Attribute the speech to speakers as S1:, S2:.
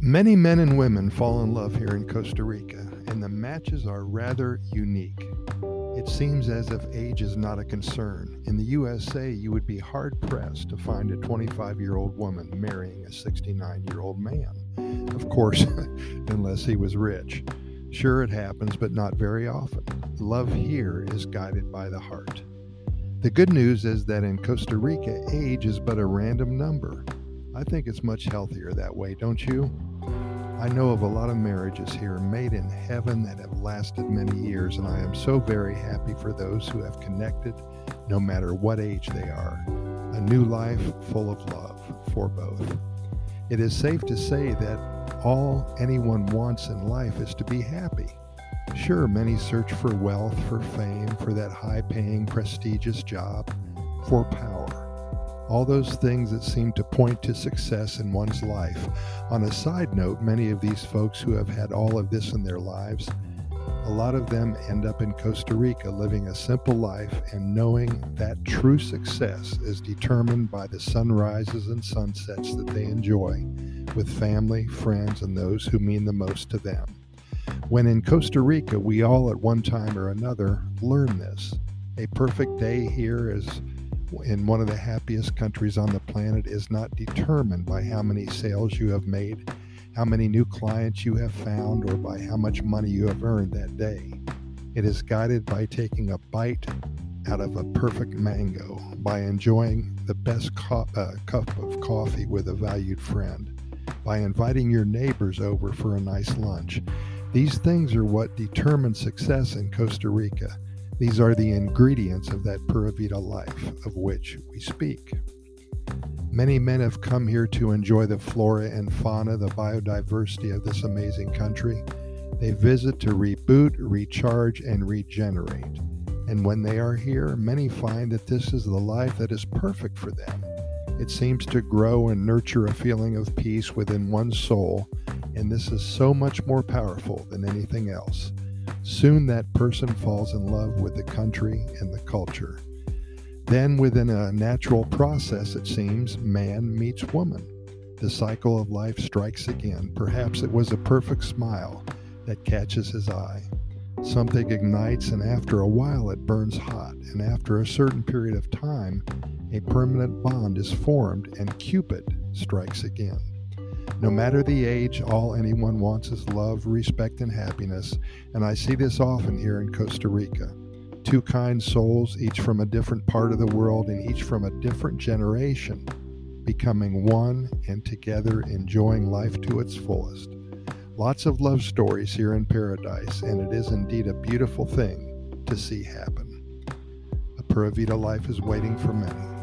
S1: Many men and women fall in love here in Costa Rica, and the matches are rather unique. It seems as if age is not a concern. In the USA, you would be hard-pressed to find a 25-year-old woman marrying a 69-year-old man. Of course, unless he was rich. Sure, it happens, but not very often. Love here is guided by the heart. The good news is that in Costa Rica, age is but a random number. I think it's much healthier that way, don't you? I know of a lot of marriages here made in heaven that have lasted many years, and I am so very happy for those who have connected, no matter what age they are. A new life full of love for both. It is safe to say that all anyone wants in life is to be happy. Sure, many search for wealth, for fame, for that high-paying, prestigious job, for power. All those things that seem to point to success in one's life. On a side note, many of these folks who have had all of this in their lives, a lot of them end up in Costa Rica living a simple life and knowing that true success is determined by the sunrises and sunsets that they enjoy with family, friends, and those who mean the most to them. When in Costa Rica, we all at one time or another learn this. A perfect day here is in one of the happiest countries on the planet is not determined by how many sales you have made, how many new clients you have found, or by how much money you have earned that day. It is guided by taking a bite out of a perfect mango, by enjoying the best cup of coffee with a valued friend, by inviting your neighbors over for a nice lunch. These things are what determine success in Costa Rica. These are the ingredients of that Pura Vida life of which we speak. Many men have come here to enjoy the flora and fauna, the biodiversity of this amazing country. They visit to reboot, recharge, and regenerate. And when they are here, many find that this is the life that is perfect for them. It seems to grow and nurture a feeling of peace within one's soul, and this is so much more powerful than anything else. Soon that person falls in love with the country and the culture. Then within a natural process, it seems, man meets woman. The cycle of life strikes again. Perhaps it was a perfect smile that catches his eye. Something ignites, and after a while it burns hot, and after a certain period of time, a permanent bond is formed, and Cupid strikes again. No matter the age, all anyone wants is love, respect, and happiness, and I see this often here in Costa Rica. Two kind souls, each from a different part of the world and each from a different generation, becoming one and together enjoying life to its fullest. Lots of love stories here in paradise, and it is indeed a beautiful thing to see happen. A Pura Vida life is waiting for many.